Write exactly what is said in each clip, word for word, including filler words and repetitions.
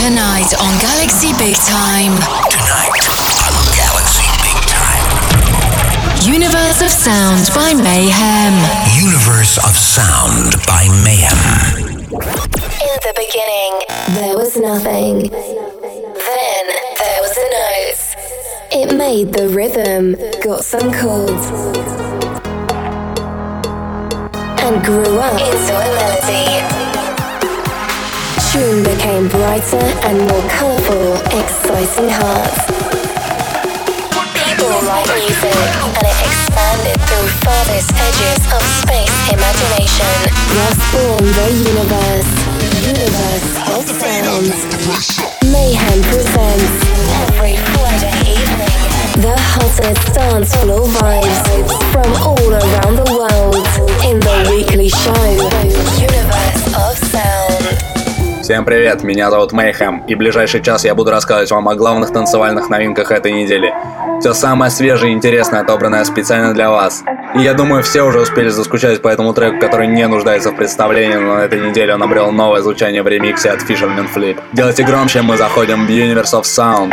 Tonight on Galaxy Big Time. Tonight on Galaxy Big Time. Universe of Sound by Mayhem. Universe of Sound by Mayhem. In the beginning, there was nothing. Then there was a note. It made the rhythm, got some chords, and grew up into a melody. Tune became brighter and more colourful, exciting hearts. People write music, and it expanded through farthest edges of space imagination. Thus born the universe, universe of sound. Mayhem presents every Friday evening the hottest dance floor vibes from all around the world in the weekly show Universe of Sound. Всем привет, меня зовут Mayhem, и в ближайший час я буду рассказывать вам о главных танцевальных новинках этой недели. Все самое свежее и интересное отобранное специально для вас. И я думаю, все уже успели заскучать по этому треку, который не нуждается в представлении, но на этой неделе он обрел новое звучание в ремиксе от Fisherman Flip. Делайте громче, мы заходим в Universe of Sound.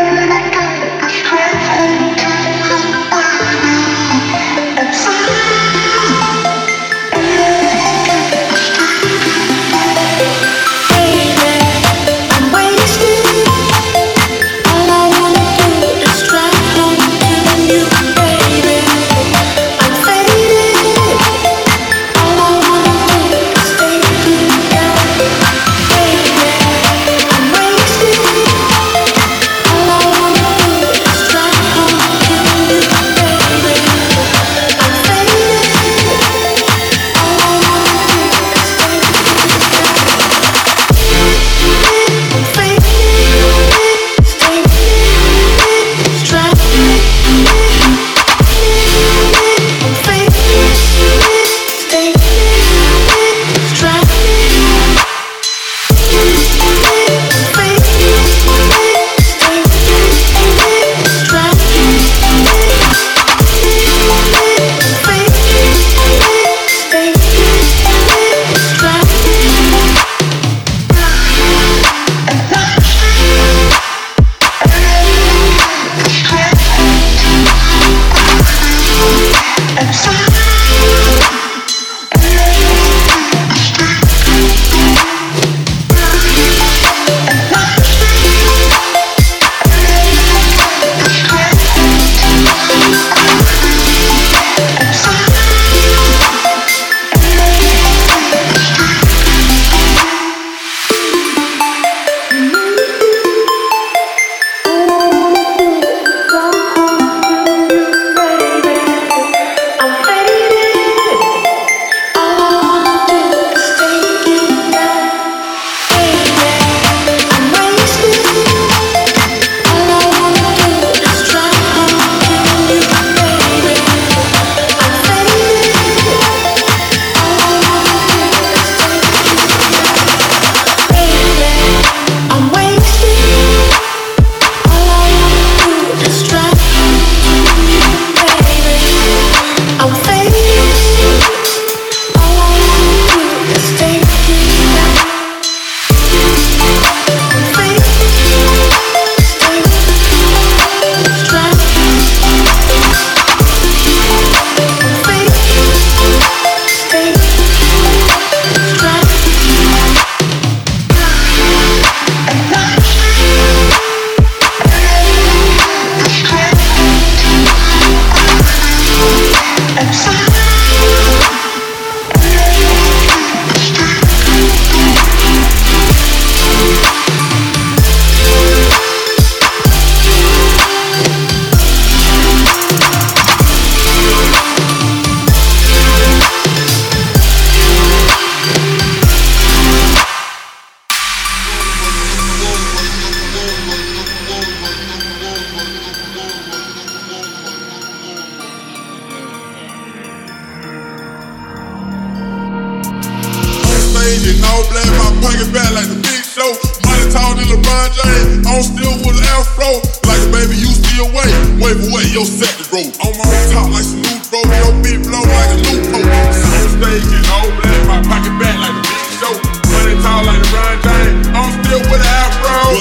In all black, my pocket back like the big show. Money taller than LeBron James. I'm still with an afro. Like a baby, you still wait. Wave away your set to roll. I'm on top like some new bro. Your beat blow like a new coat. On stage in all black, my pocket back like the big show. Money tall like LeBron James. I'm still with an afro.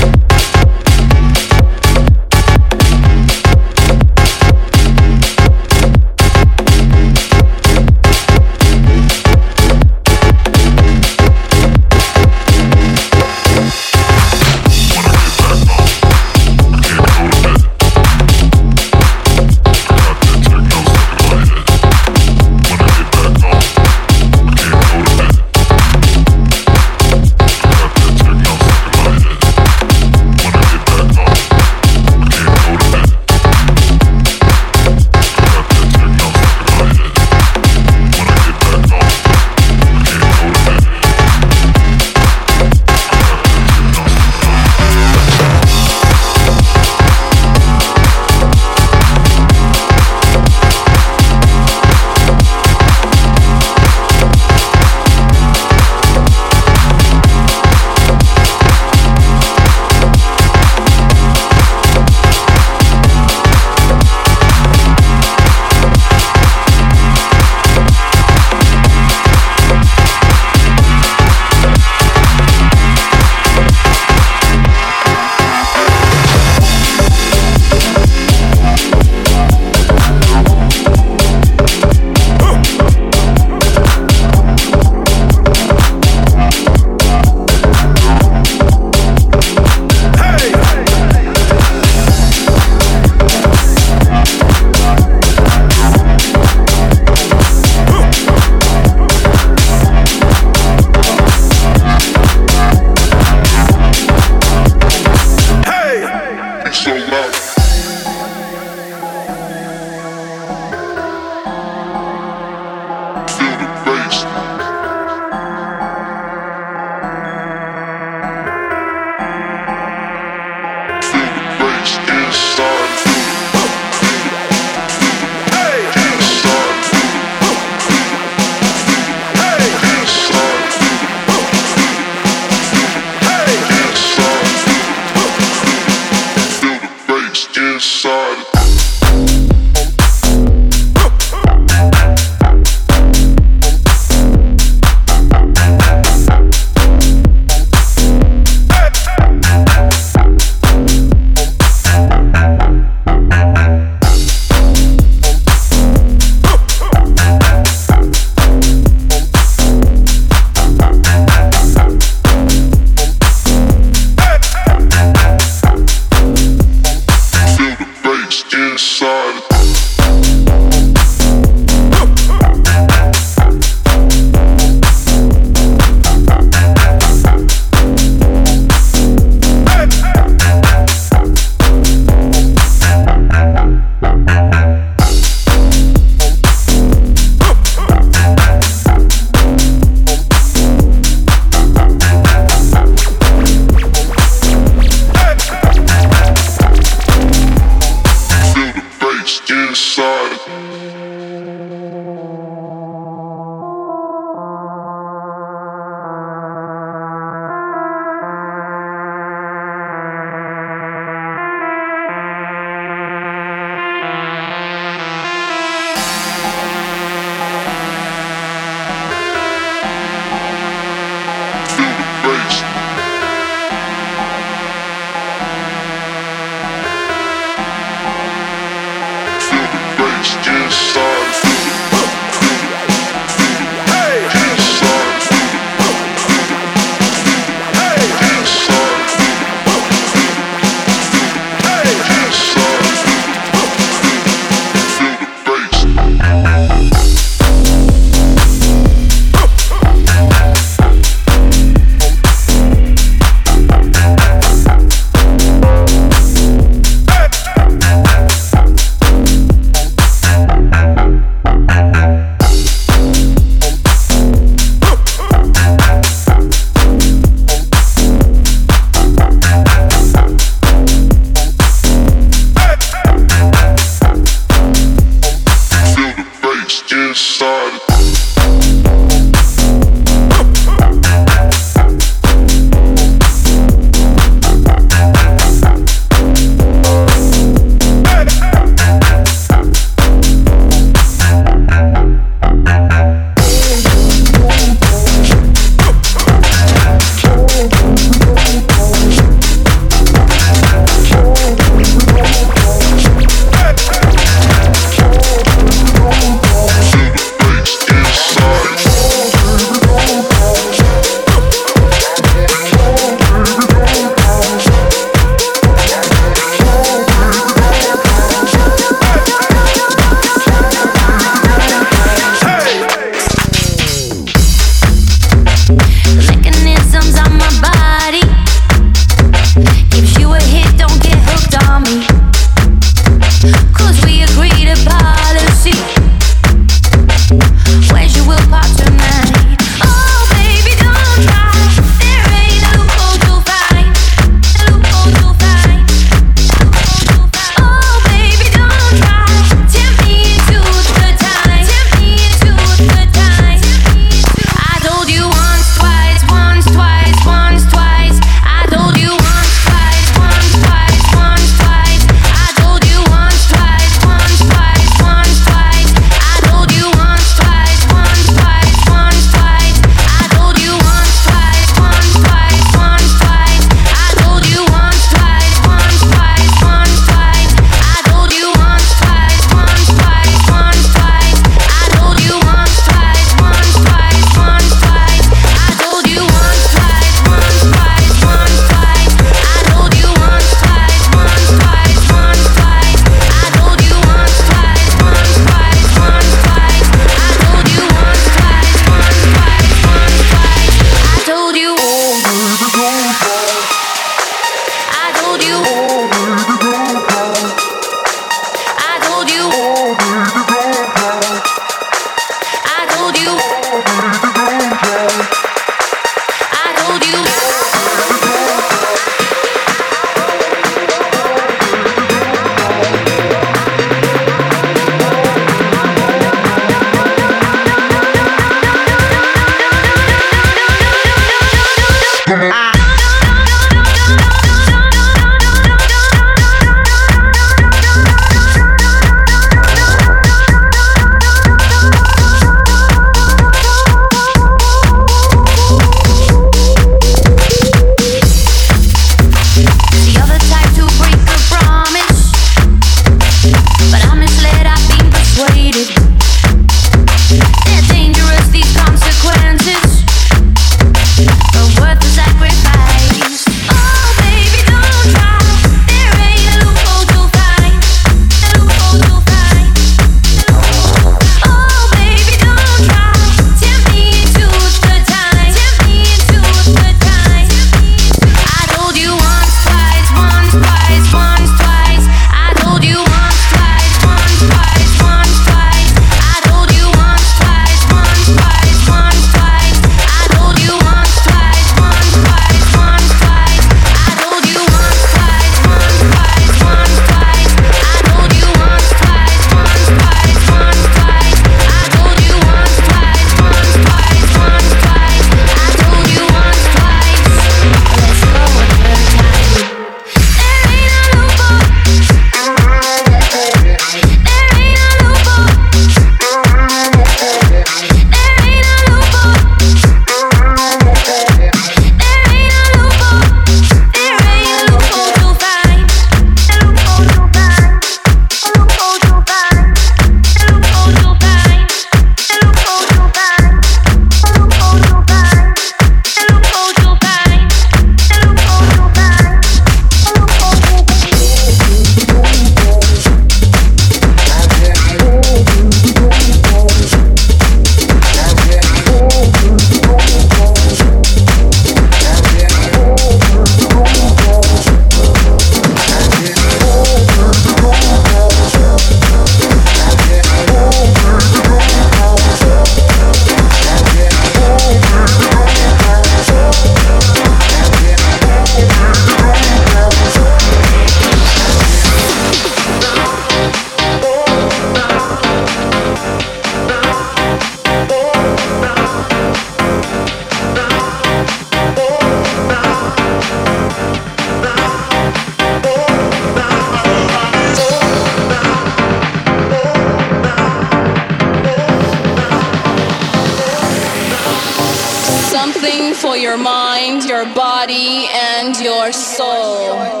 Something for your mind, your body, and your soul.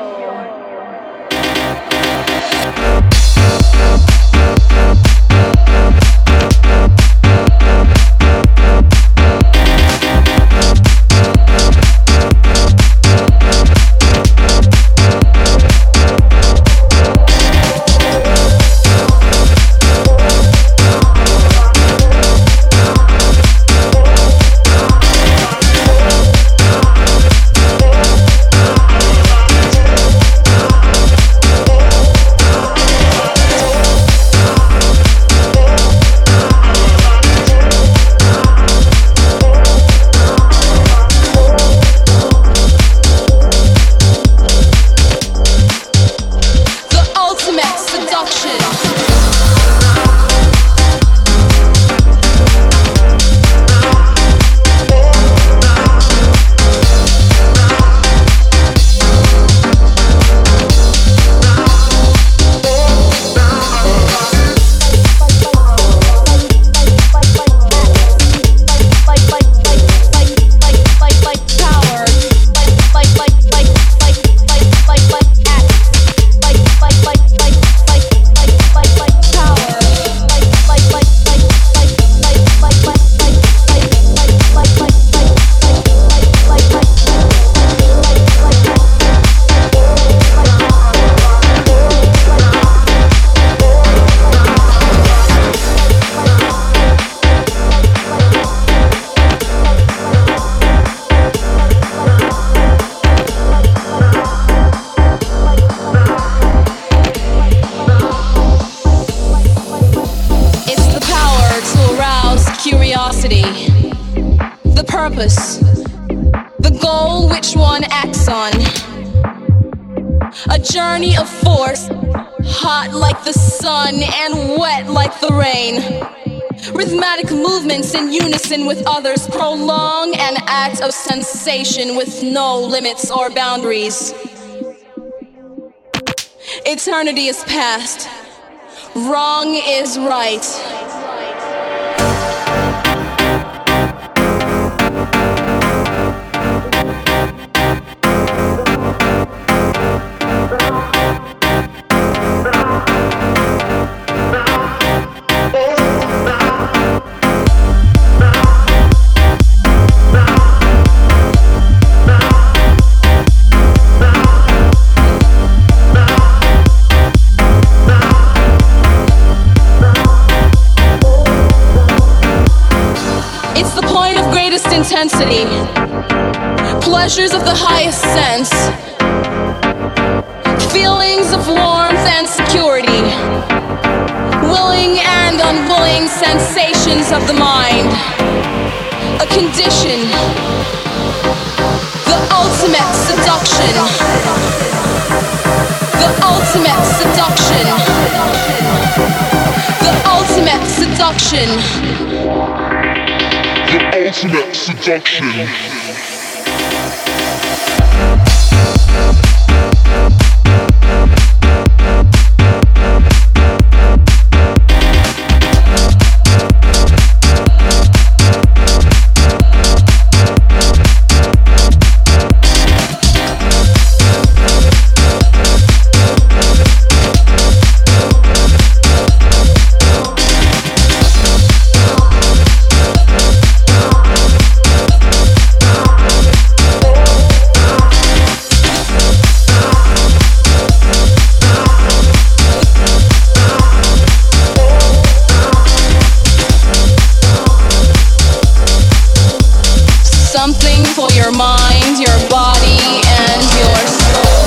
The goal which one acts on. A journey of force, hot like the sun and wet like the rain. Rhythmic movements in unison with others prolong an act of sensation with no limits or boundaries. Eternity is past. Wrong is right. Intensity, pleasures of the highest sense, feelings of warmth and security, willing and unwilling sensations of the mind, a condition, the ultimate seduction, the ultimate seduction, the ultimate seduction. The ultimate seduction. Something for your mind, your body, and your soul.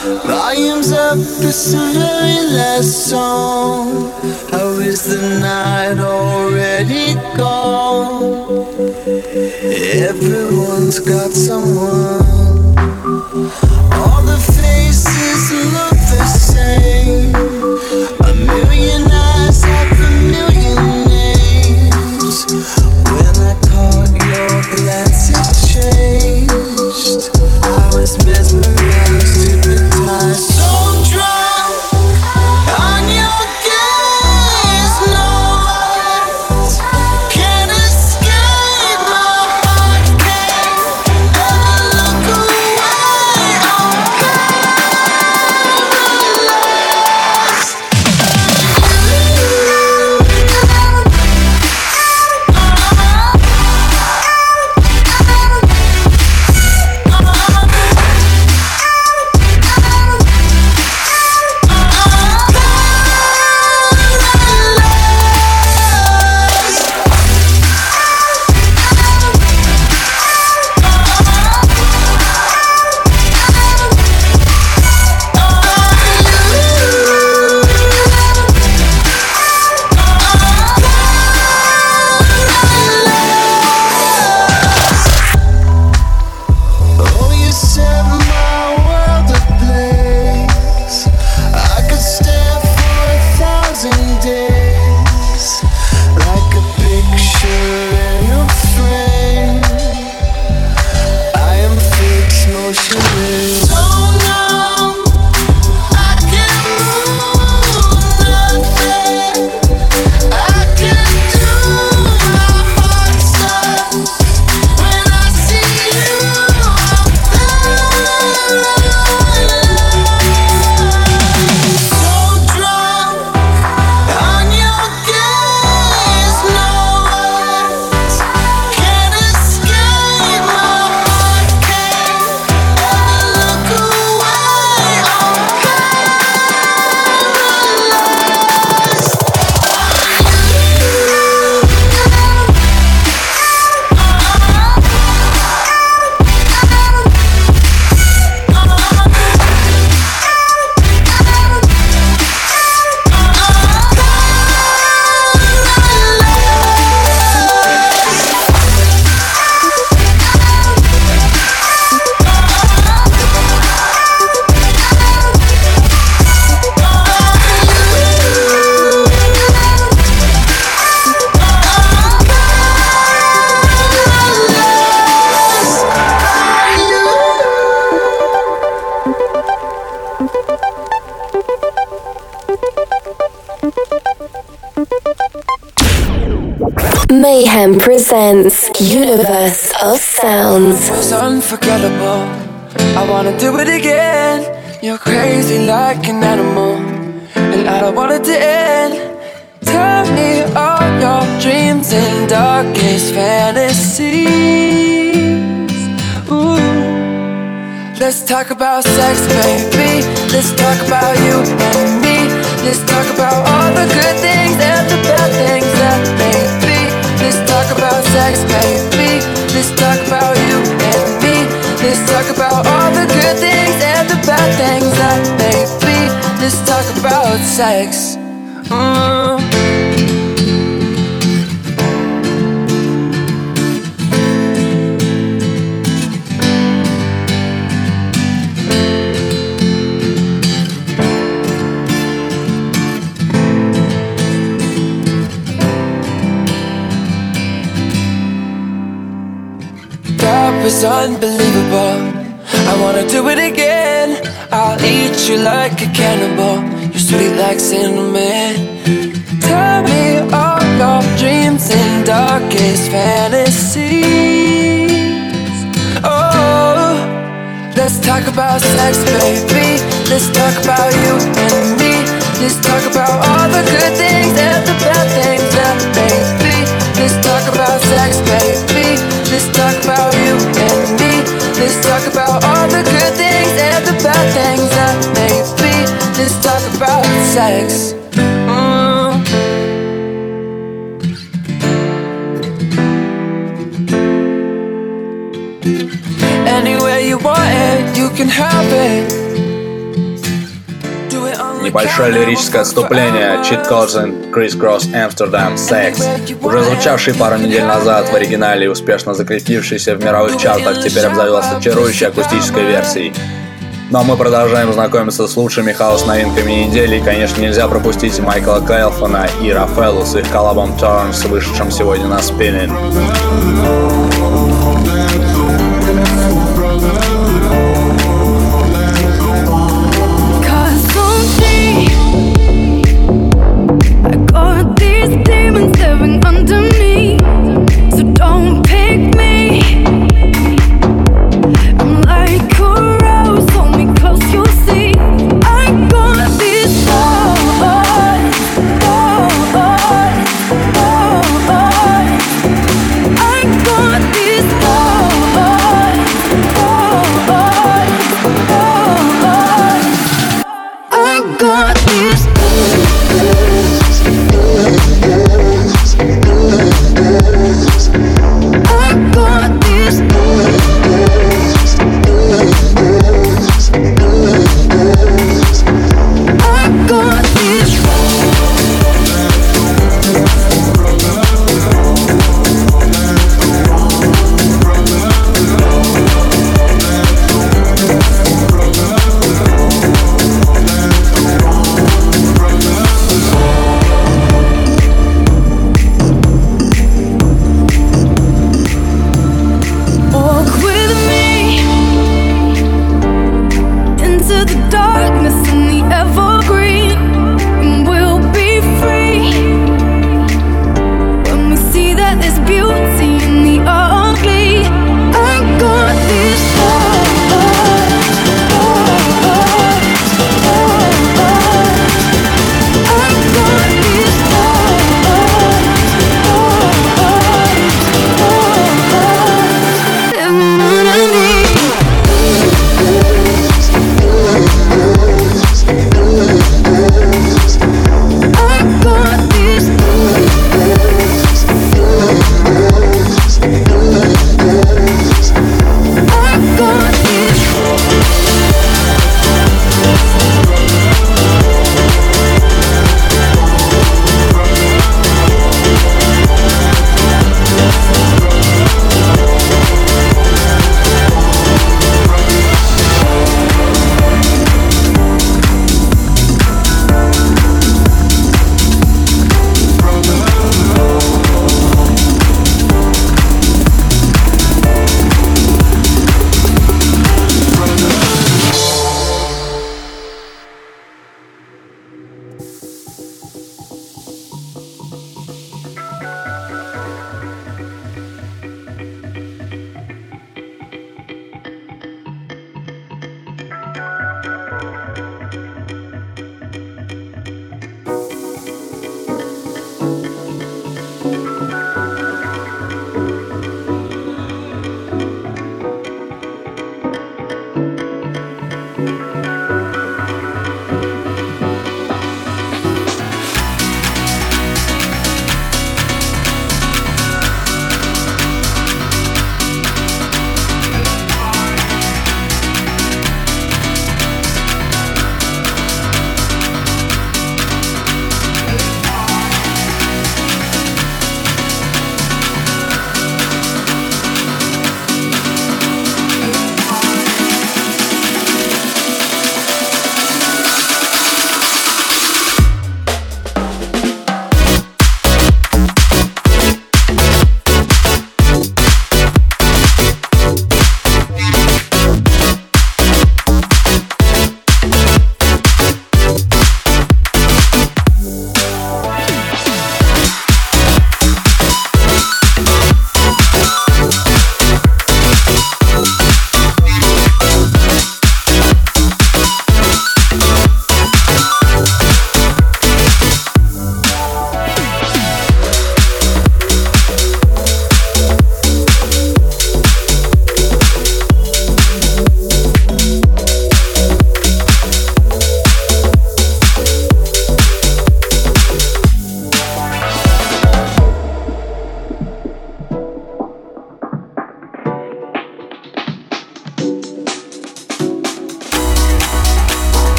Volumes up, it's the very last song. How is the night already gone? Everyone's got someone. All the faces look the same. A million eyes have a million names. When I caught your glance, it changed. I was mesmerized, hypnotized, so drunk on your gaze. No words can escape my heart. Can't ever look away. I'm paralyzed. Oh, you set my world ablaze. I could stare for a thousand days, like a picture in a frame. I am fixed, motionless. So numb, I can't move nothing. I can't do. My heart stops when I see you. So drunk on your gaze, no words can escape my heart. Can't ever look away. I'm Mayhem presents Universe of Sounds. It was unforgettable. I wanna do it again. You're crazy like an animal, and I don't want it to end. Tell me all your dreams and darkest fantasies. Ooh. Let's talk about sex, baby. Let's talk about you and me. Let's talk about all the good things and the bad things that may be. Let's talk about sex, baby. Let's talk about you and me. Let's talk about all the good things and the bad things that may be. Let's talk about sex. Mm. That was unbelievable. I wanna do it again. I'll eat you like a cannibal. You're sweet like cinnamon. Tell me all your dreams and darkest fantasies. Oh, let's talk about sex, baby. Let's talk about you and me. Let's talk about all the good things and the bad things that may be. Let's talk about sex, baby. Let's talk about you and me. Let's talk about all the good things and the bad things that may be. Let's talk about sex. Mm. Anywhere you want it, you can have it. небольшое лирическое отступление. Cheat Codes and Crisscross Amsterdam Sex, уже звучавший пару недель назад в оригинале и успешно закрепившийся в мировых чартах, теперь обзавелся чарующей акустической версией. Ну а мы продолжаем знакомиться с лучшими хаос-новинками недели, и, конечно, нельзя пропустить Майкла Келфона и Рафаэлу с их коллабом Turns, вышедшим сегодня на Spinnin'. Demons living under me, so don't pick me. I'm like a rose, hold me close, you'll see. I got these thoughts, thoughts, thoughts. I got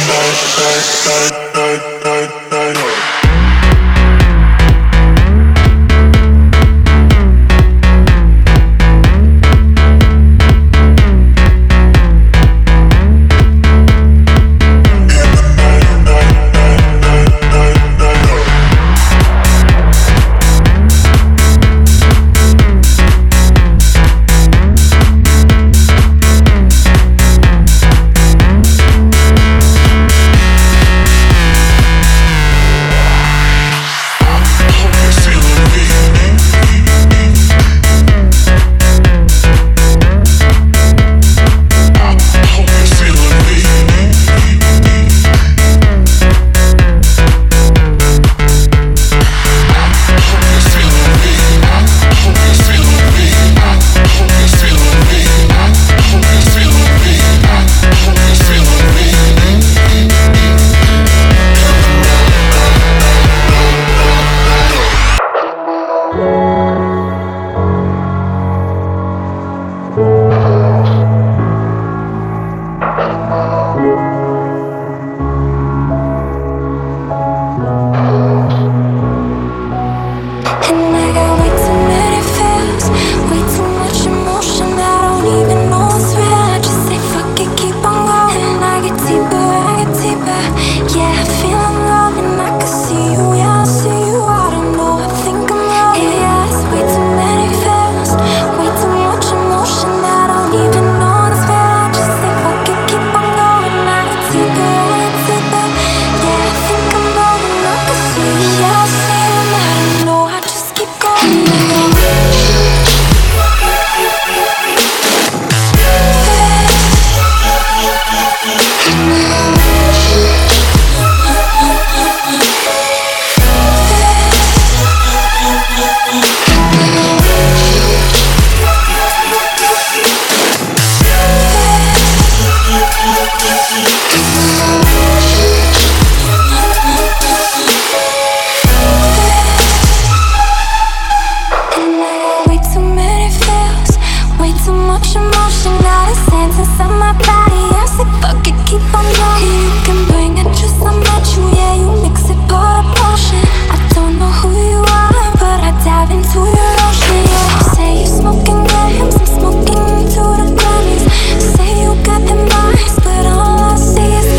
Say you got the mice, but all I see is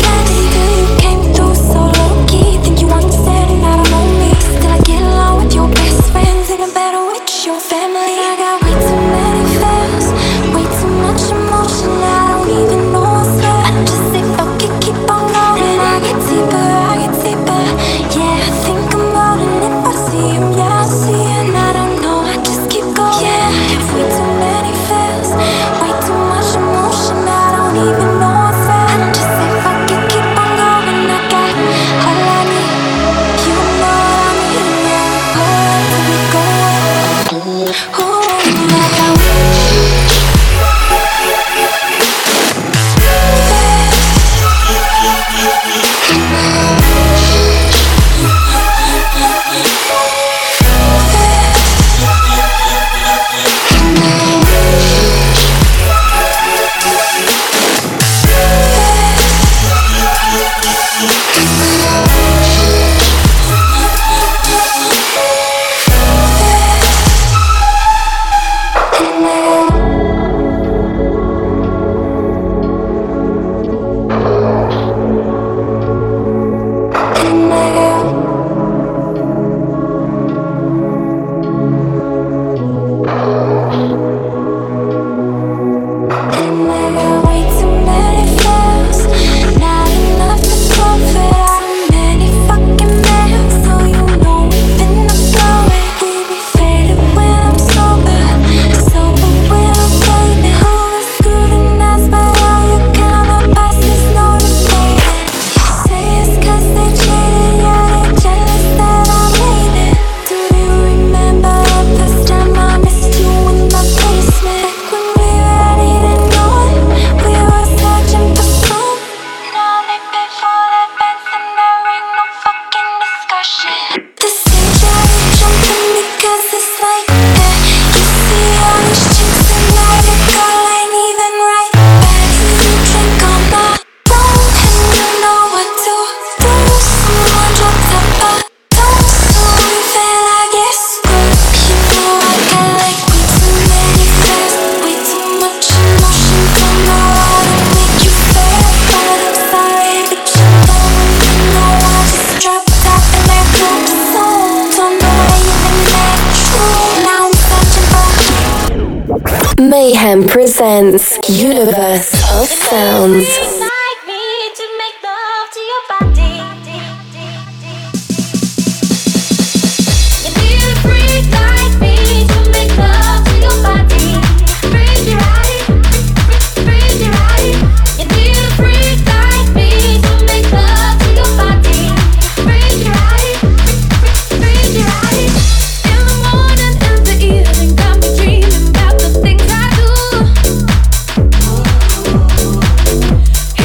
Mayhem presents Universe of Sounds. Like me to make love to your body. You need a freak like me to make love to your body. Freaky right, freaky right. You need a freak like me to make love to your body. Freaky right, freaky right. In the morning and the evening, got me dreaming about the things I do.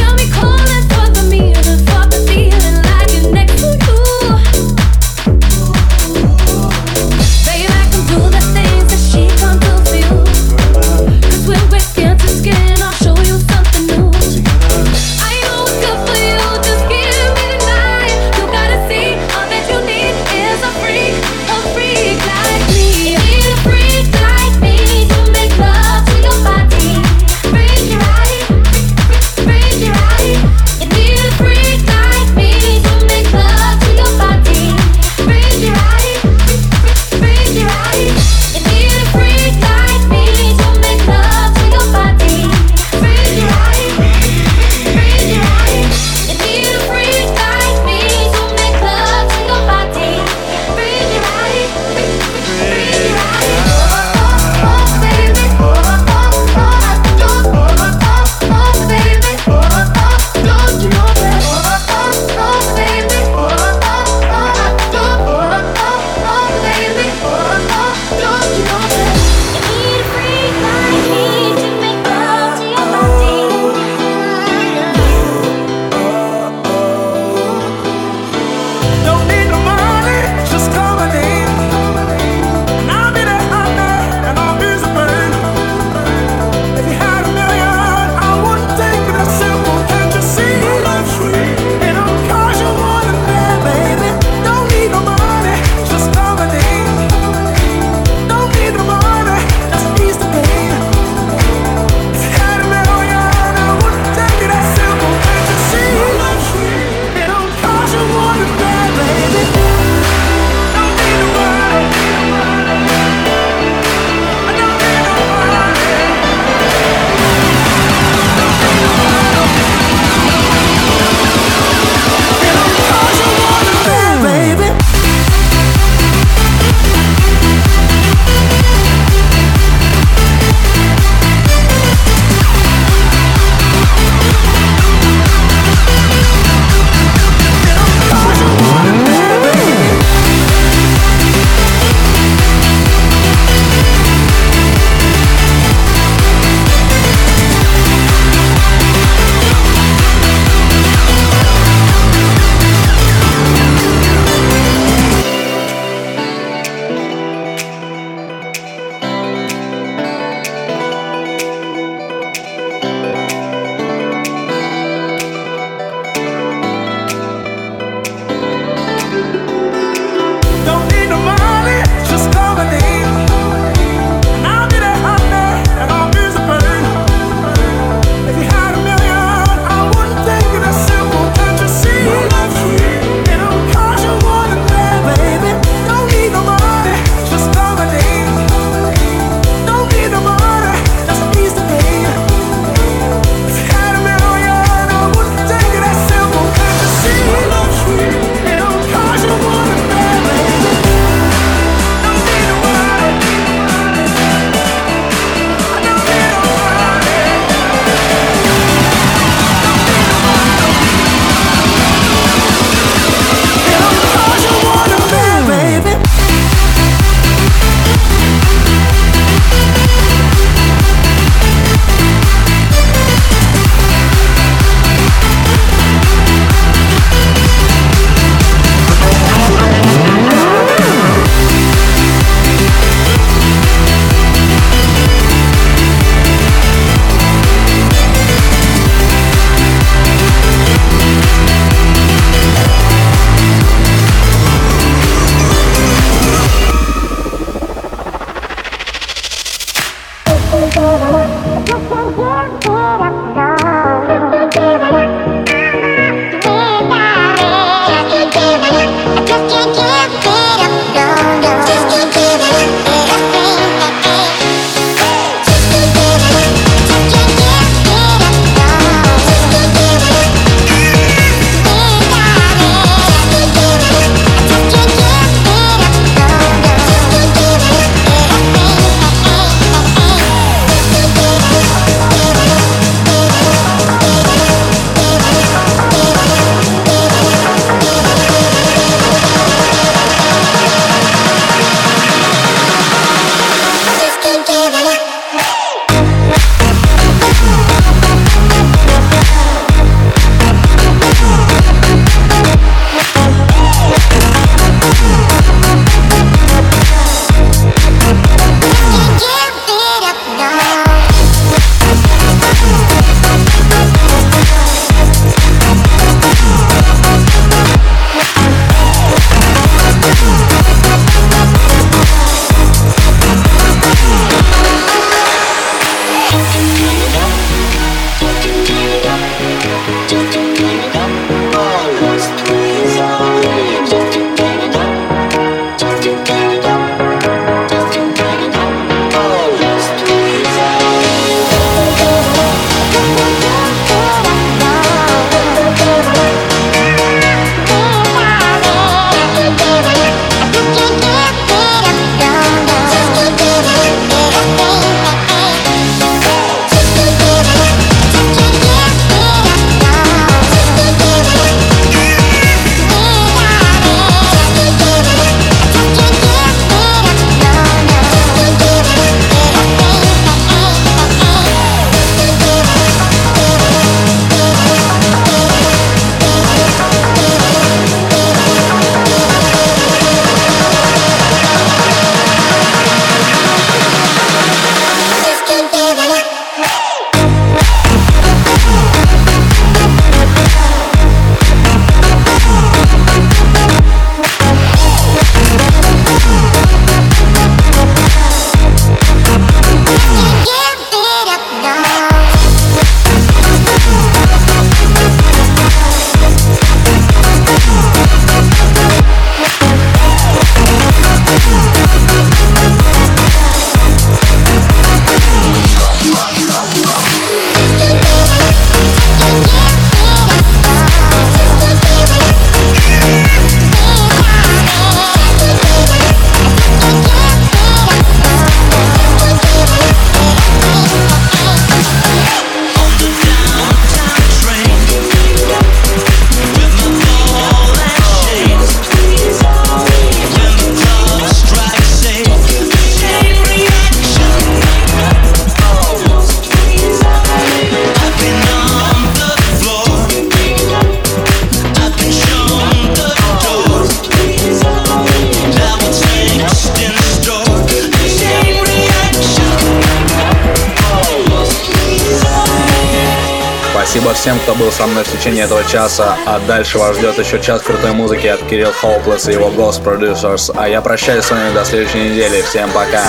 Спасибо всем, кто был со мной в течение этого часа, а дальше вас ждет еще час крутой музыки от Кирилл Hopeless и его Ghost Producers. А я прощаюсь с вами до следующей недели. Всем пока!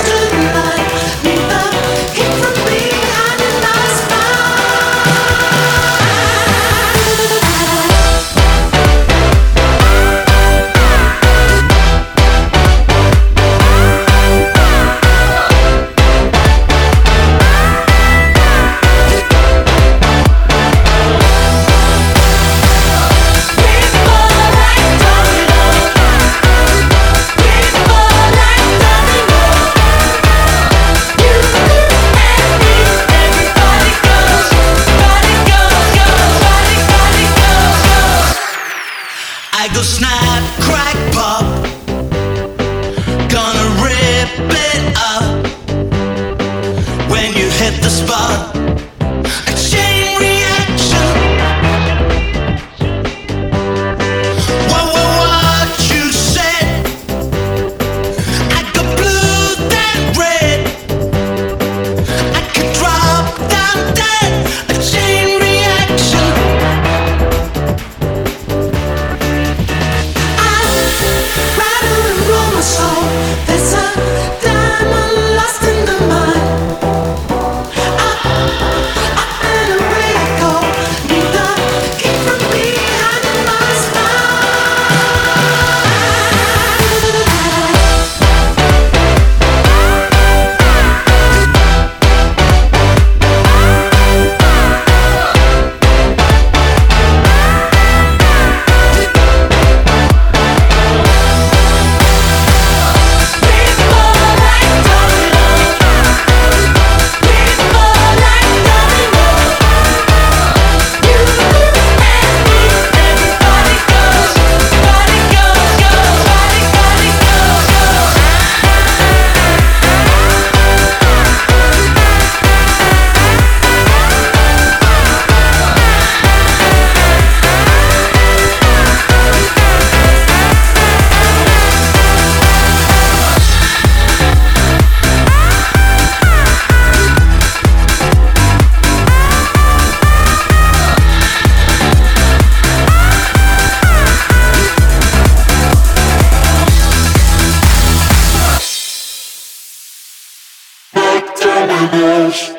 I go snap, crack, pop. Gonna rip it up when you hit the spot. A chain reaction. What, what, what you said? I go blue, then red. I could drop down dead. A chain reaction. Rattle and roll my soul. There's a diamond lost in the mud. Up, up and away I go. Need the kick from behind my Terminus.